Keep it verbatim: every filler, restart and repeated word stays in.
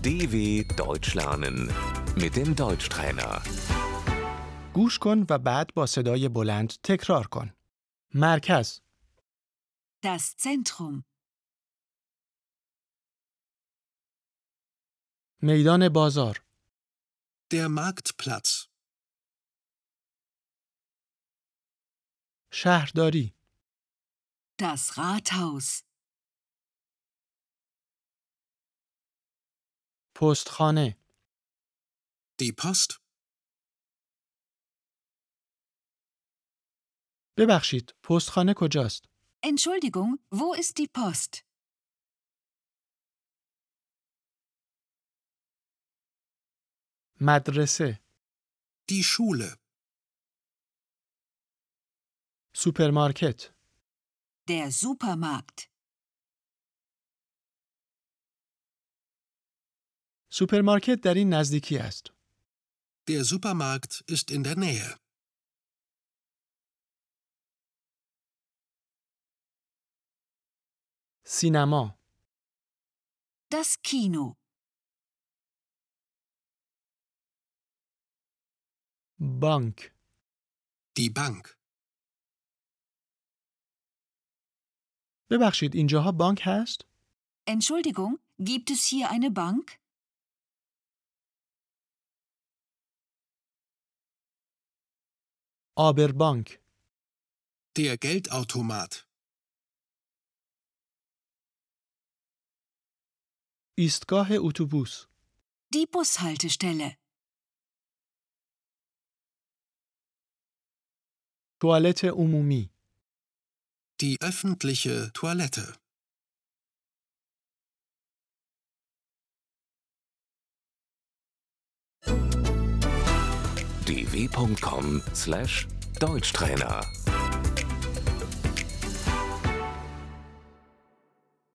D W Deutsch lernen mit dem Deutschtrainer. گوش کن و بعد با صدای بلند تکرار کن. مرکز، Das Zentrum. میدان بازار، Der Marktplatz. شهرداری، Das Rathaus. پستخانه، Die Post. ببخشید، پستخانه کجاست؟ Entschuldigung, wo ist die Post? مدرسه، Die Schule. سوپرمارکت، Der Supermarkt. سوپرمارکت در این نزدیکی است. Der Supermarkt ist in der Nähe. سینما، Das Kino. بانک، Die Bank. ببخشید، اینجاها بانک هست؟ Entschuldigung, gibt es hier eine Bank? آبربانک، Der Geldautomat. ایستگاه اتوبوس، Die Bushaltestelle. توالت عمومی، Die öffentliche Toilette. d w punkt com slash Deutschtrainer